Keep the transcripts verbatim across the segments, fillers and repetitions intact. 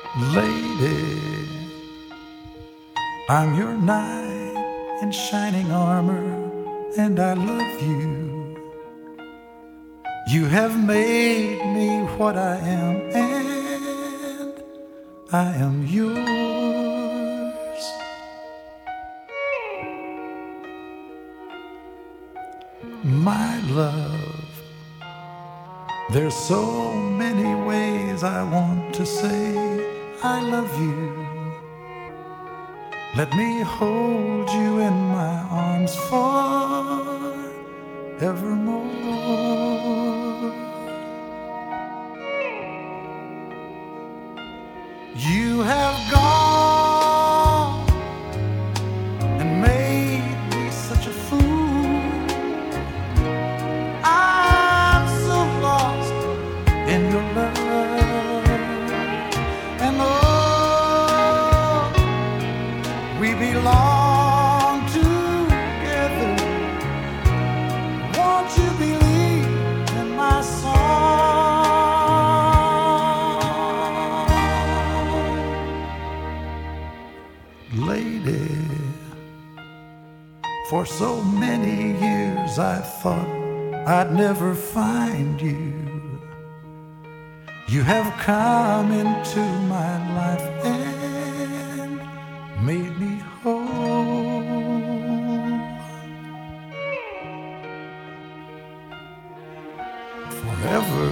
Lady, I'm your knight in shining armor, and I love you. You have made me what I am, and I am yours. My love, there's so many ways I want to say I love you. Let me hold you in my arms forevermore. You have gone and made me such a fool. I'm so lost in your love, and oh, we belong together. Won't you believe in my song? Lady, for so many years I thought I'd never find you. You have come into my life and made me whole. Forever,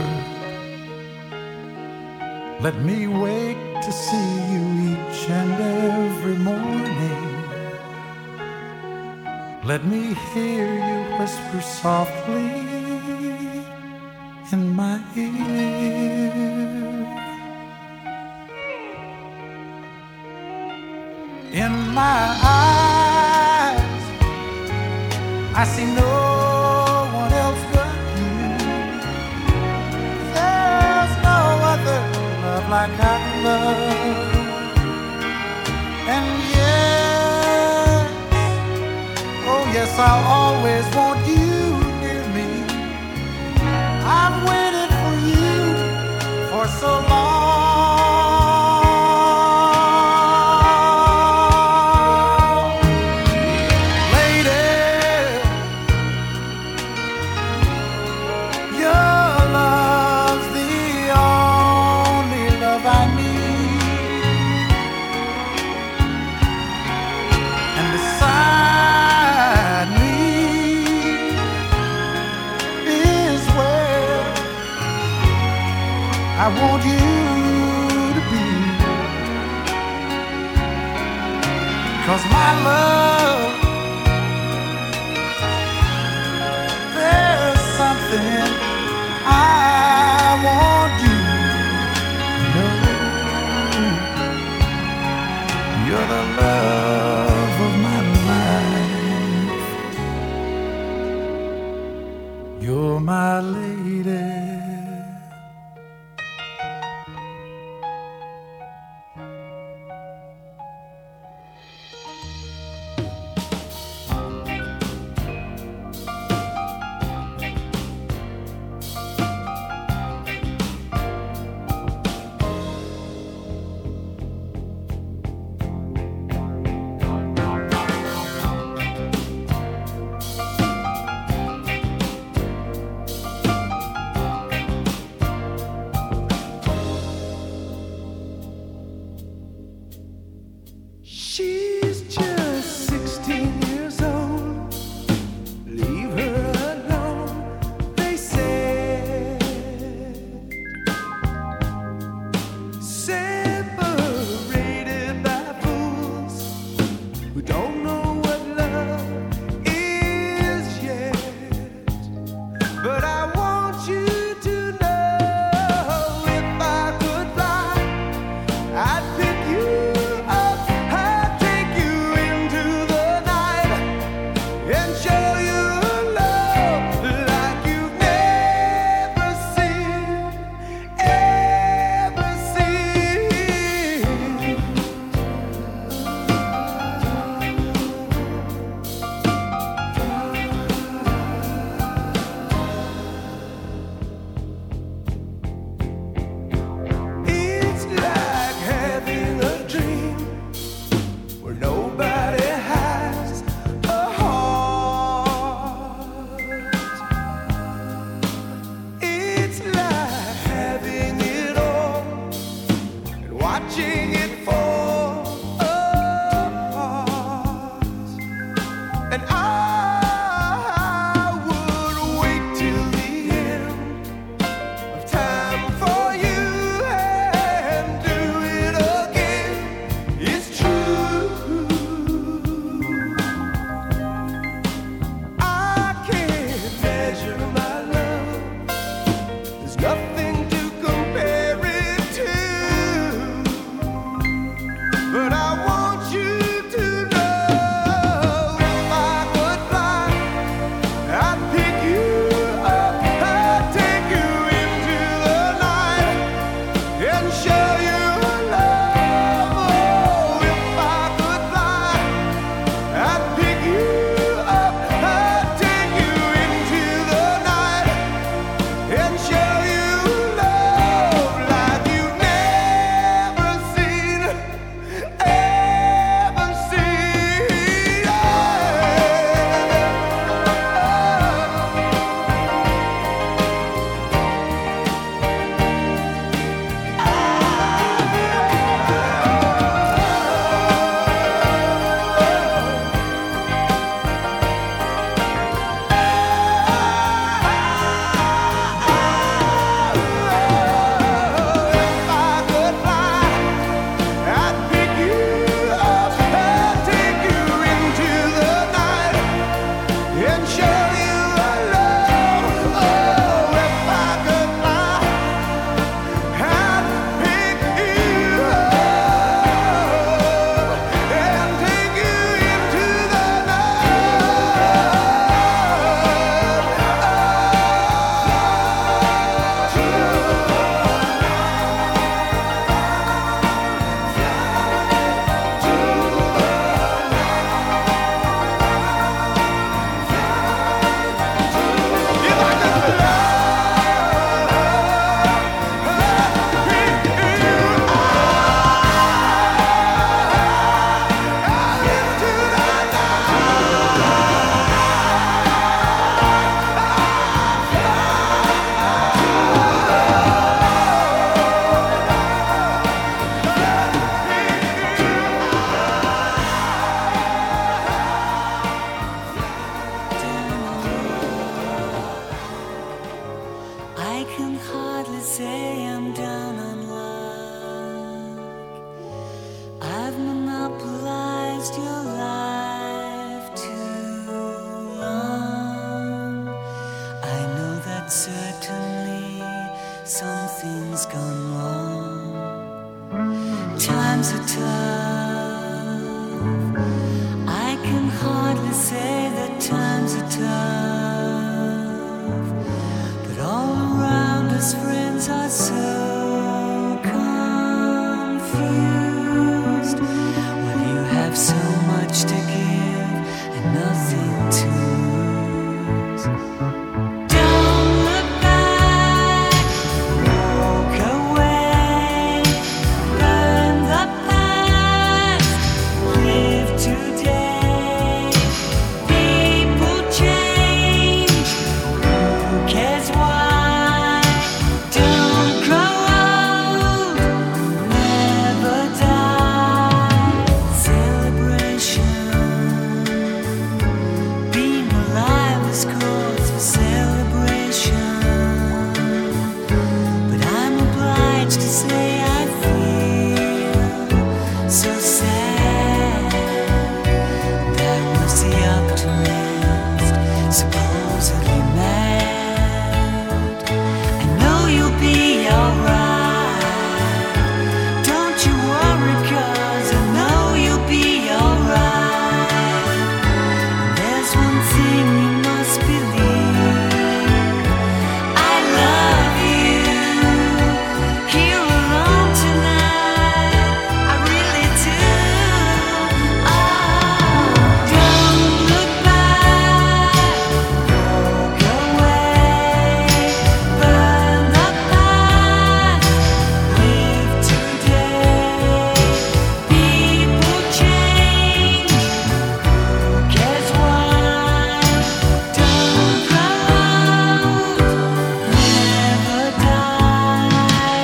let me wake to see you each and every morning. Let me hear you whisper softly in my ear. In my eyes, I see no one else but you. There's no other love like our love. And yes, oh yes, I'll always want you near me. I've waited for you for so long. I want you to be, 'cause my love, there's something I want you to know. You're the love of my life. You're my lady. something's gone wrong. Times are tough. I can hardly say that times are tough, but all around us friends are so confused. Well, you have so much to give and nothing to lose. Don't look back, walk away, burn the past, live today. People change, who cares why? Don't grow old, never die. Celebration, being alive is cause for celebration. But I'm obliged to say I feel so sad. That was the optimist, supposedly mad. I know you'll be alright. Don't you worry, cause I know you'll be alright. There's one thing you must believe. I love you. Here alone tonight, I really do. Oh, don't look back, walk away, burn the past, live today. People change, who cares why? Don't grow old, never die.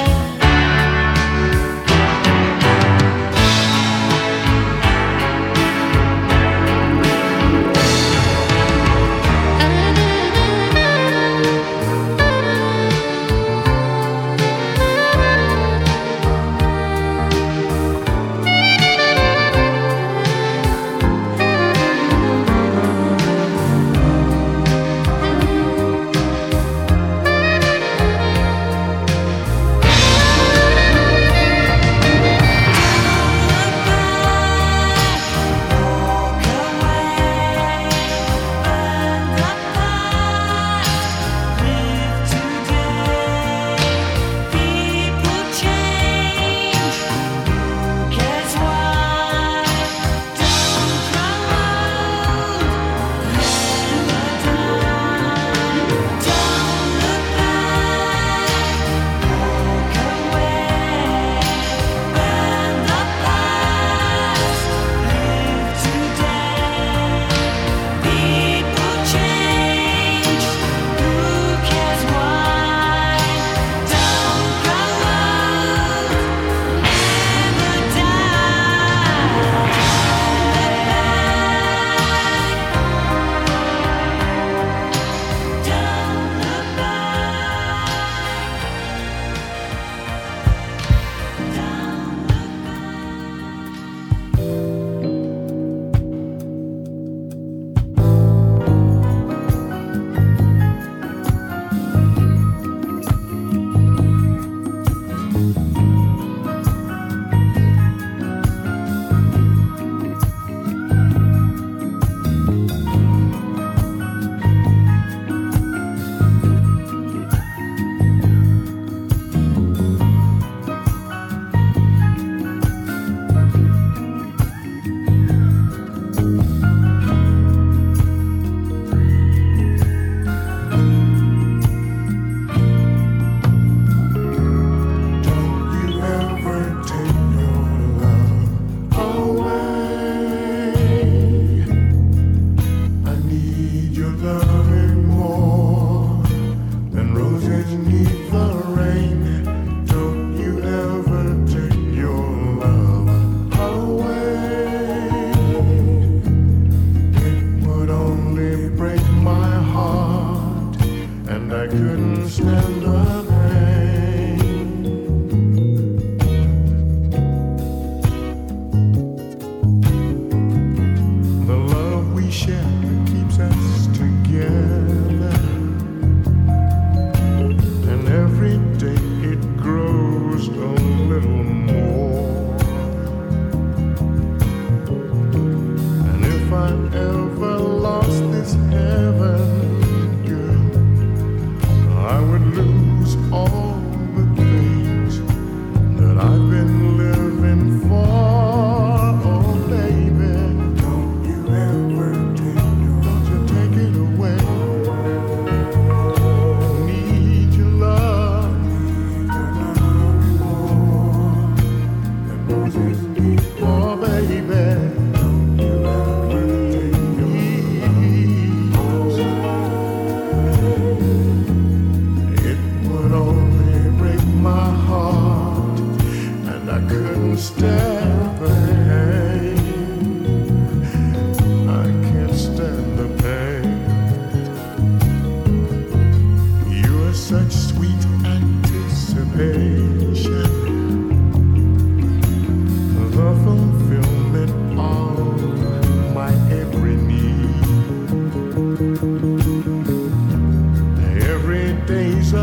Every day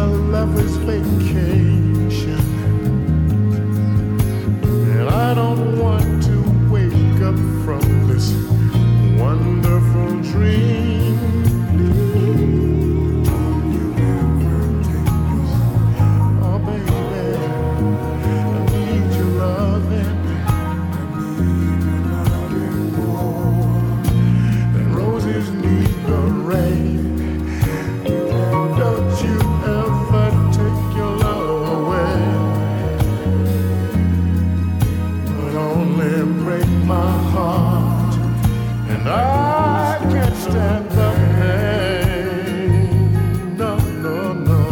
a lover's vacation, and I don't want to wake up from this wonderful dream. Oh baby, I need your loving. And roses need the rain. Don't you ever take your love away, but only break my heart, and I can't stand the pain. No, no, no.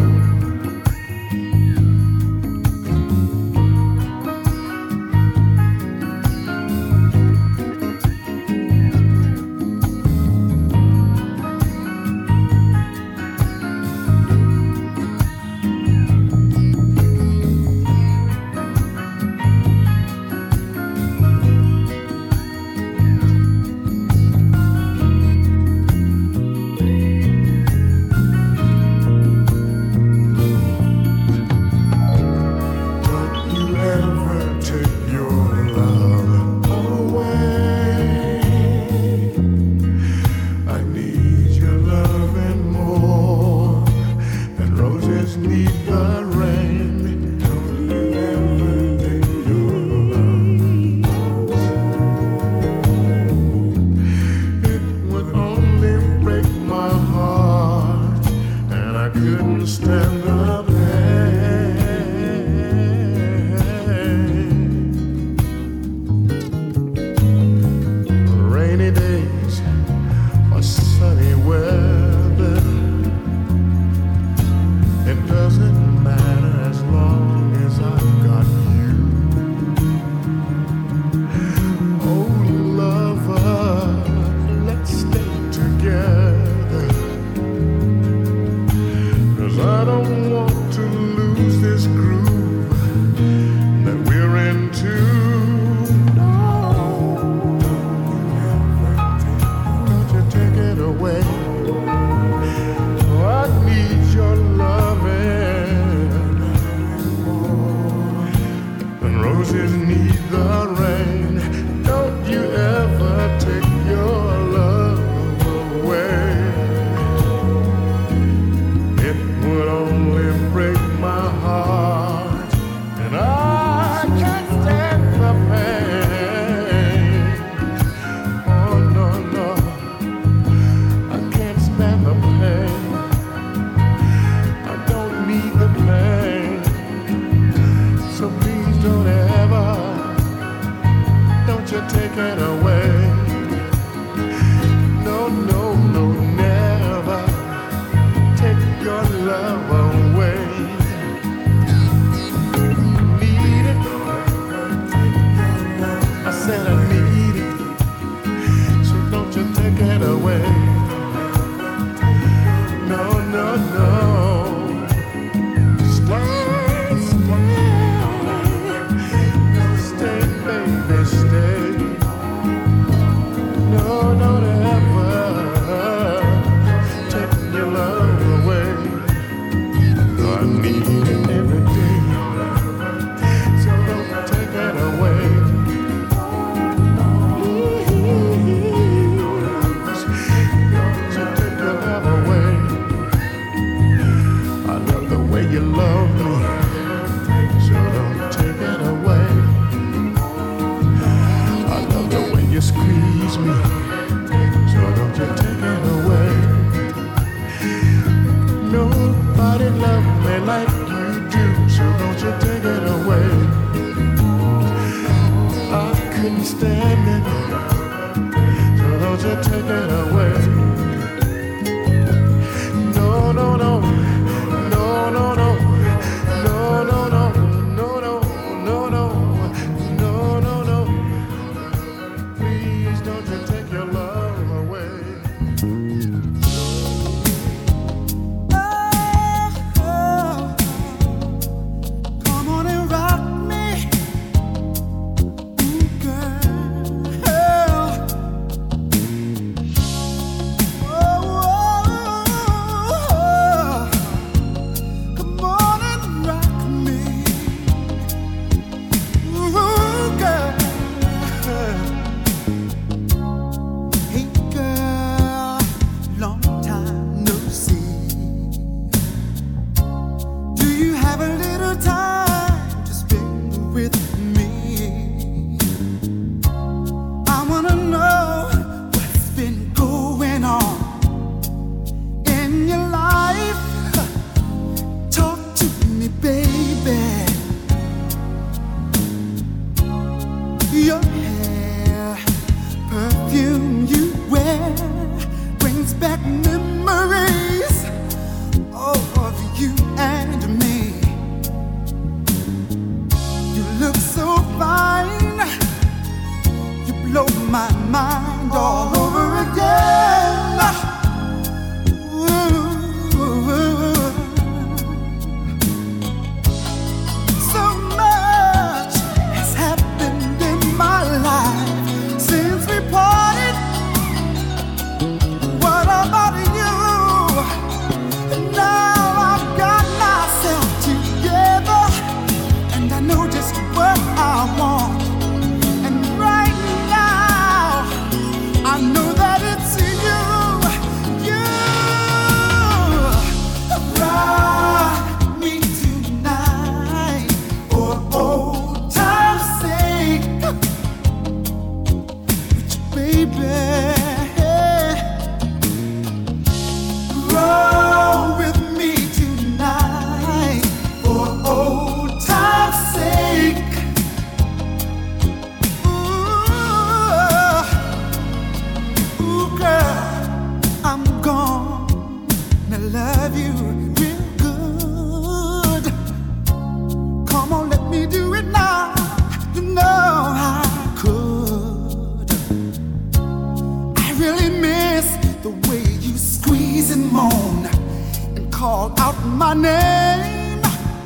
call out my name.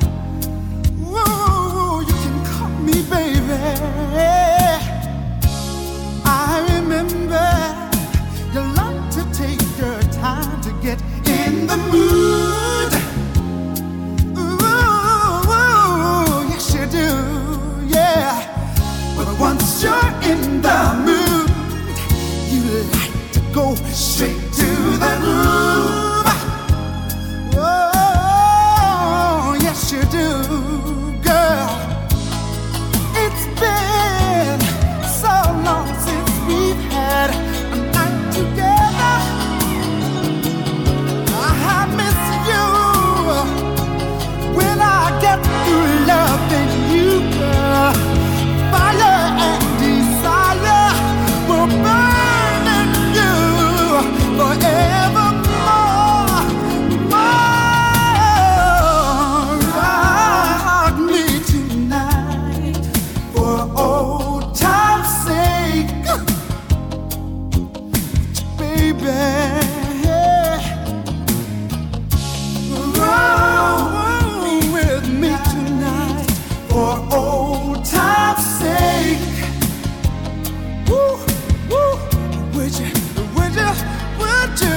Ooh, you can call me baby. I remember you like to take your time to get in the mood. Ooh, yes you do, yeah. But once you're in the mood, you like to go straight to the groove. Oh, yes you do, girl. It's been so long since we've had a night together. I miss you when I get through loving you, girl. Fire and desire will burn in you forevermore. More. Rock me tonight for old time's sake, baby. Roll with me tonight for old time's sake. Woo, woo. Would you, would you, would you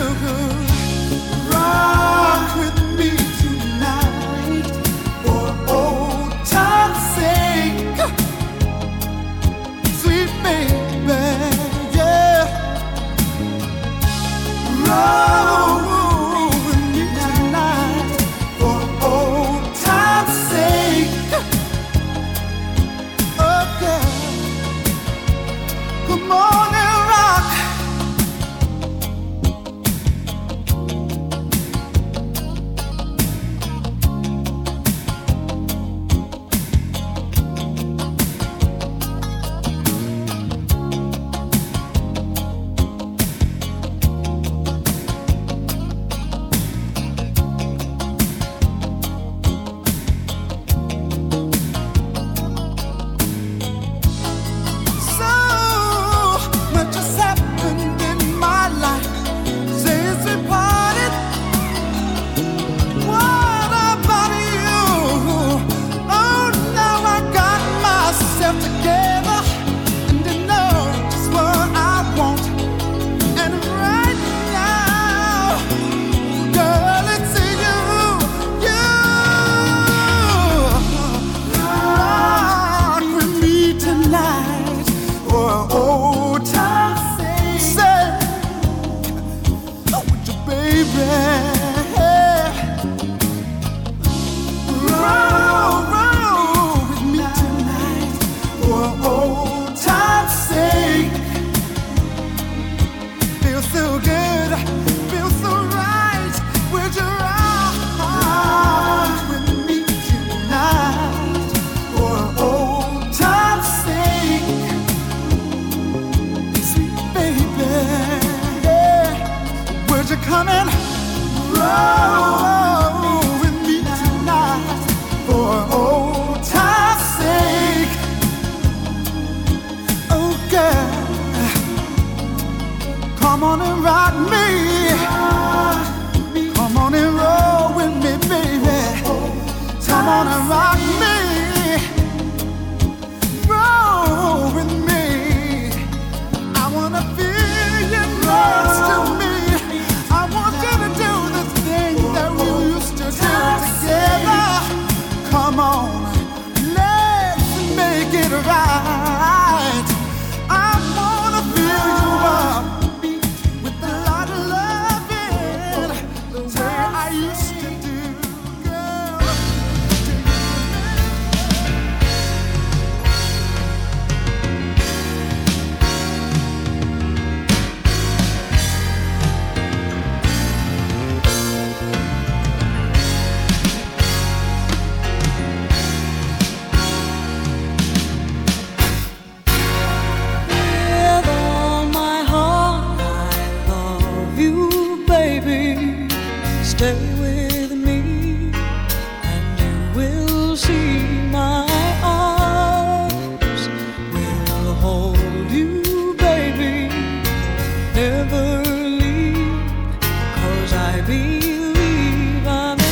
rock with me tonight for old time's sake? Sweet baby, yeah. Roll with me tonight for old time's sake. Oh, girl, come on and rock. So much has happened in my life since we parted. What about you? Oh, now I got myself together and I know just what I want. And right now, girl, it's you, you. Rock with me tonight for old time's sake. Say, oh, would you, baby? Roll, roll with me tonight for old time's sake. Feels so good, feels so right. Would you rock with me tonight for old time's sake? Sweet baby, yeah. Would you come and roll with me tonight for old time's sake? Oh, girl, come on and rock me. Come on and roll with me, baby. Come on and rock me. Roll with me. I wanna feel you next to me. I want you to do the things that we used to do together. Come on, let's make it right. I wanna fill you up with a lot of loving, the way I used to do, girl. With all my heart, I love you, baby. Stay with me, and you will see my arms will hold you, baby. Never leave, 'cause I believe I'm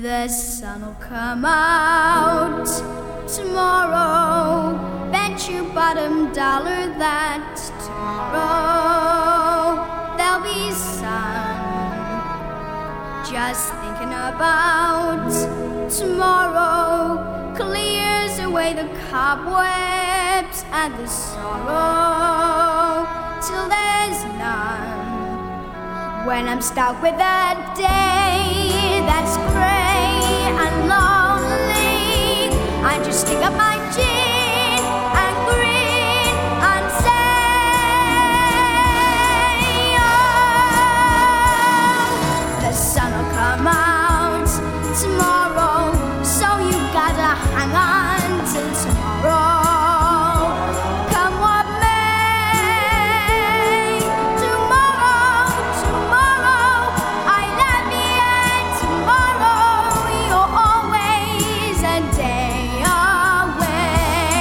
The sun will come out tomorrow. Bet you bottom dollar that tomorrow there'll be sun. Just thinking about tomorrow clears away the cobwebs and the sorrow till there's none. When I'm stuck with that day that's gray and lonely, I just stick up my chin and grin and say, oh, the sun will come out tomorrow, so you gotta hang on till tomorrow. Come what may, tomorrow, tomorrow, I love you, and tomorrow you're always a day away.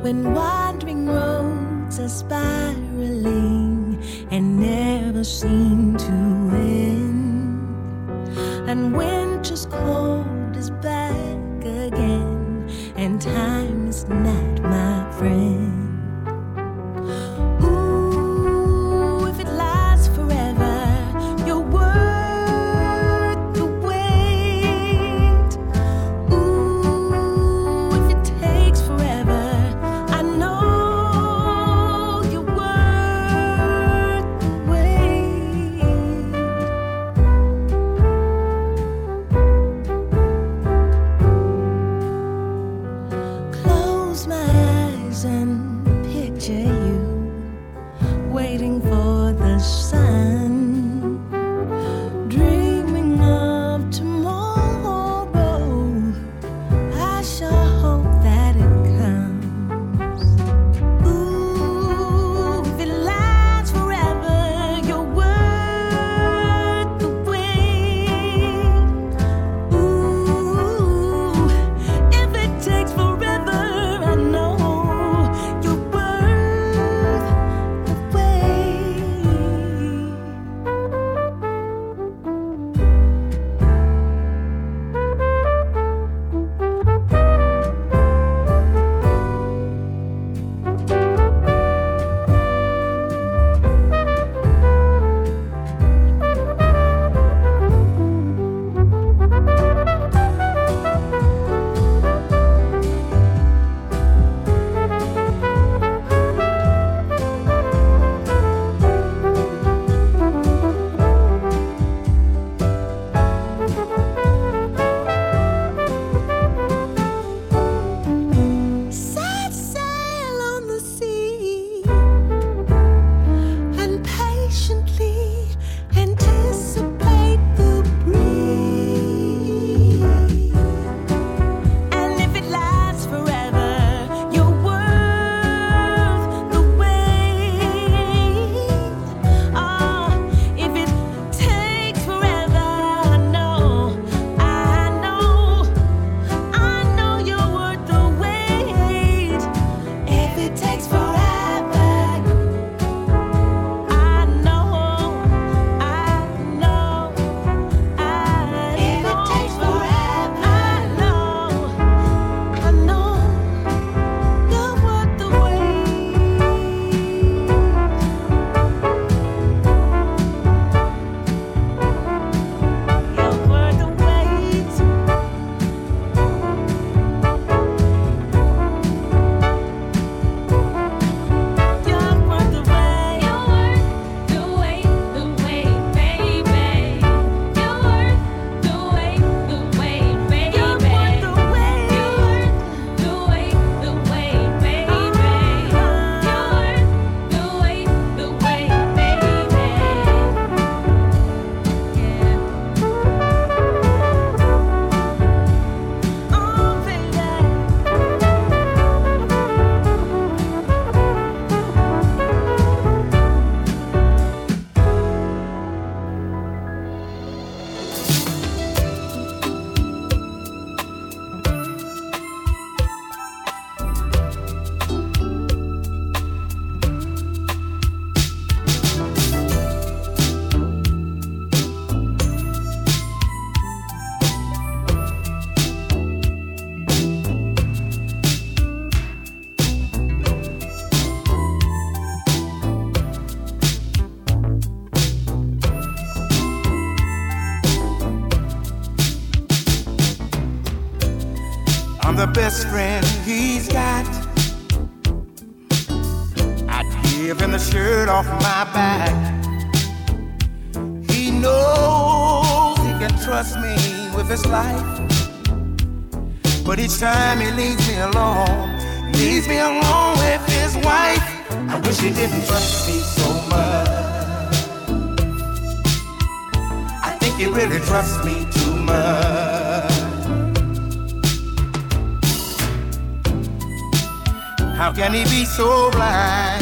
when wandering roads are spiraling and never seem to end, and winter's cold is back again, and time is not my friend. The best friend he's got, I'd give him the shirt off my back. He knows he can trust me with his life, but each time he leaves me alone, leaves me alone with his wife. I wish he didn't trust me so much. I think he really trusts me too much. How can he be so blind?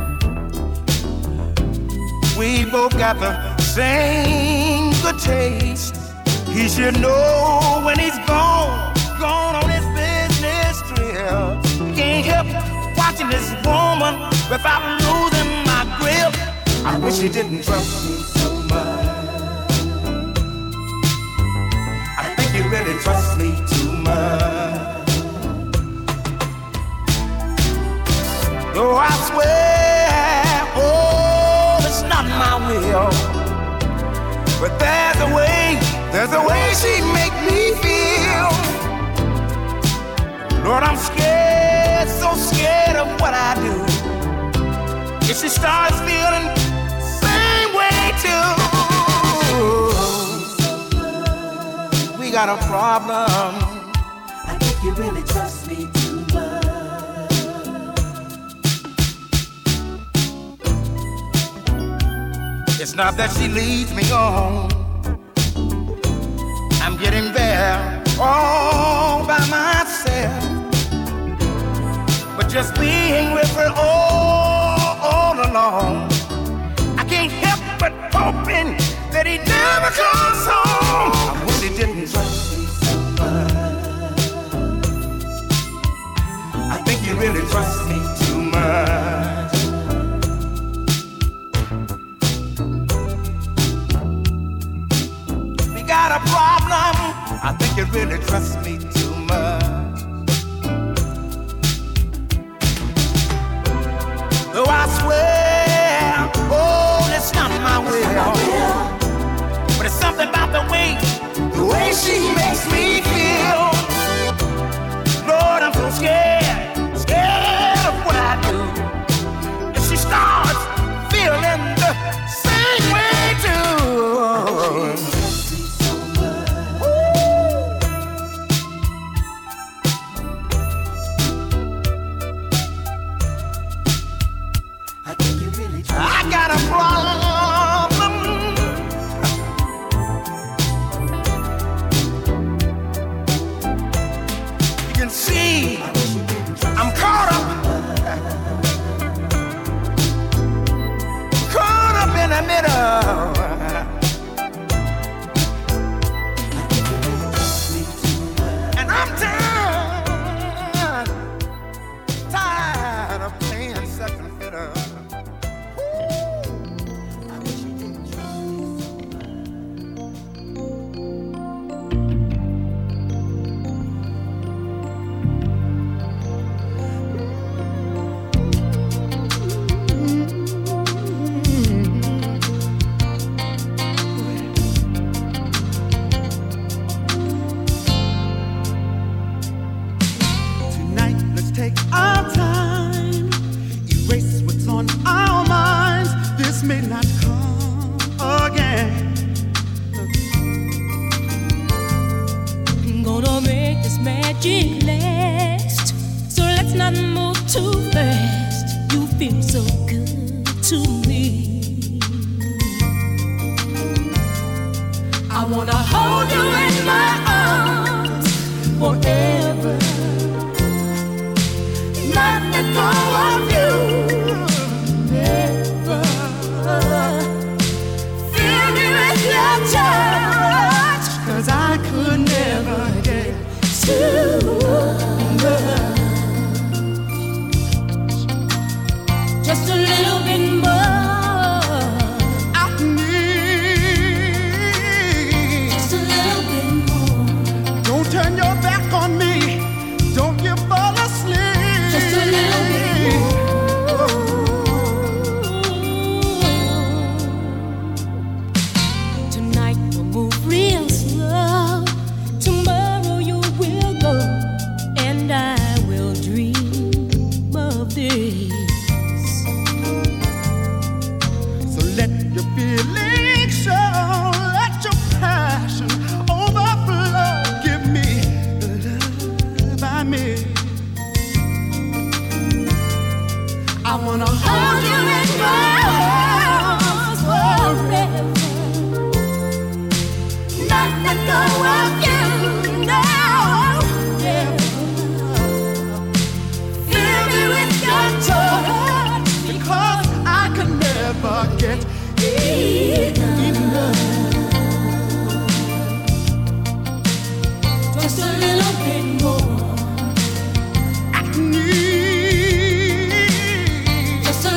We both got the same good taste. He should know when he's gone, gone on his business trip. Can't help without losing my grip. I wish he didn't trust me so much. I think he really trusts me too much. Though I swear, oh, it's not my will, but there's a way, there's a way she make me feel. Lord, I'm scared, so scared of what I do. If she starts feeling the same way too, we got a problem. I think you really trust me too much. It's not that she leads me on, I'm getting there all by myself. But just being with her all, all along, I can't help but hoping that he never comes home. I wish he didn't trust me so much. I think he really trusts me too much. We got a problem. I think he really trusts me too much. Though I swear, oh, it's not my will, but it's something about the way, the way she makes me feel. Lord, I'm so scared, scared of what I do. If she starts feeling the same way too. I got a problem. You can see I'm caught up, caught up in the middle. And I'm tired, tired of playing second fiddle. Just a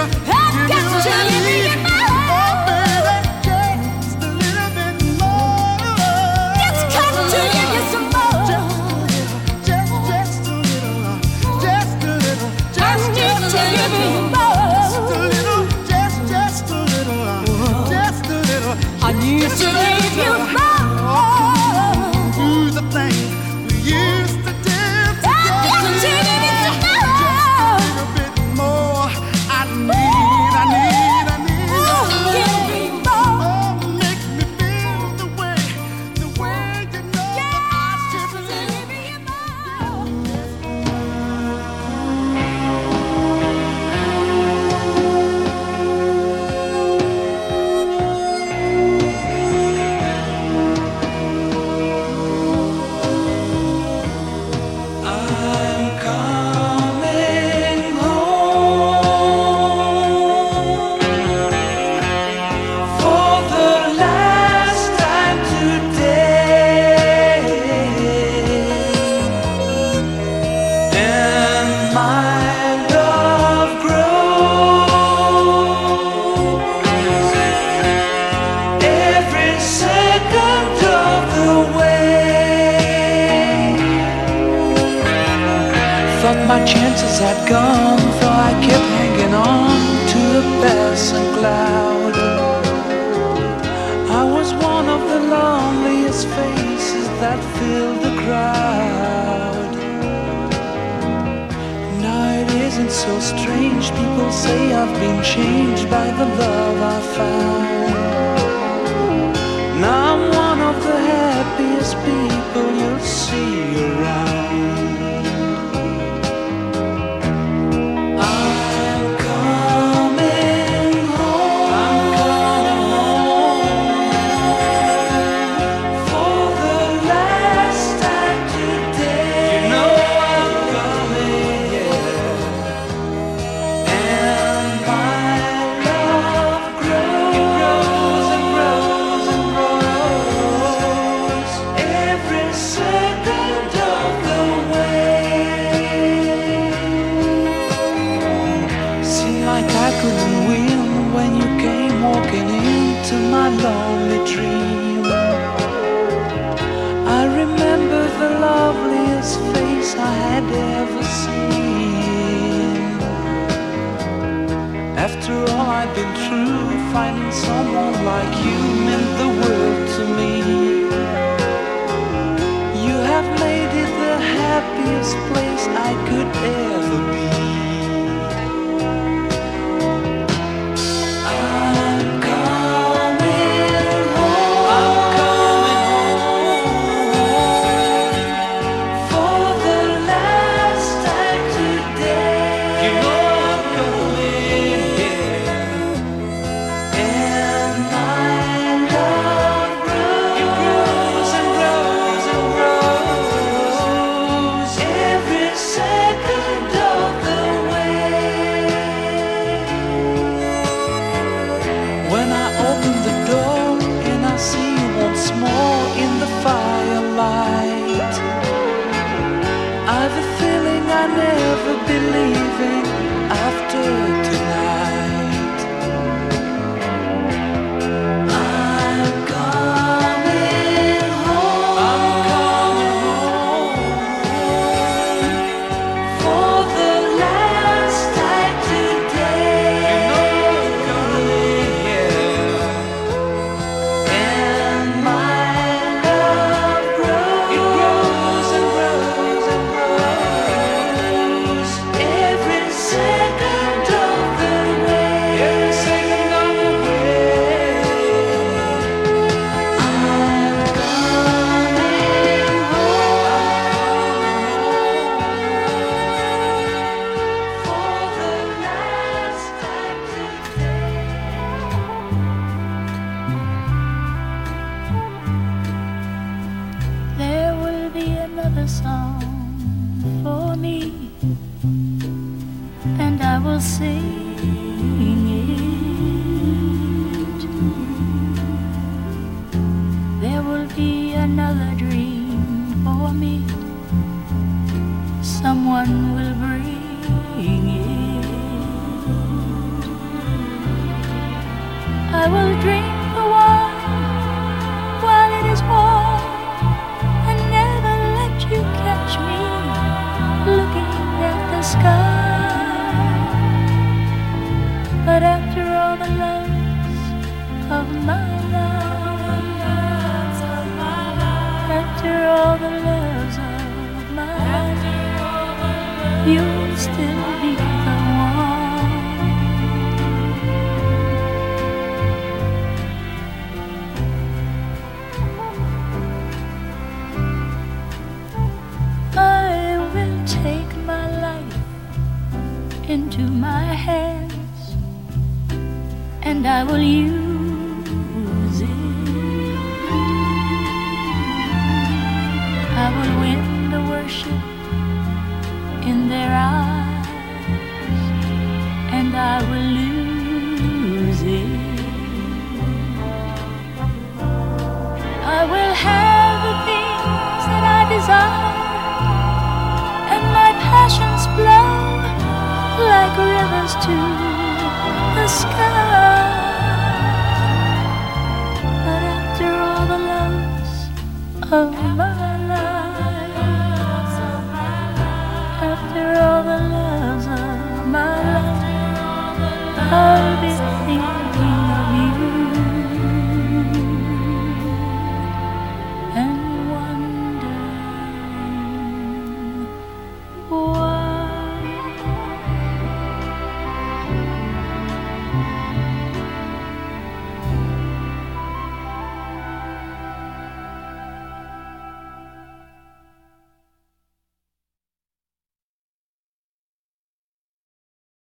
Every second of the I will drink the wine while it is warm and never let you catch me looking at the sky. But after all the loves of my life, after all the loves of my life, you'll still be the one. I will take my life into my hands, and I will use it. I will win the worship in their eyes, and I will lose it. I will have the things that I desire, and my passions flow like rivers to the sky. But after all the loves of my life, after all the loves of my life, I'll be thinking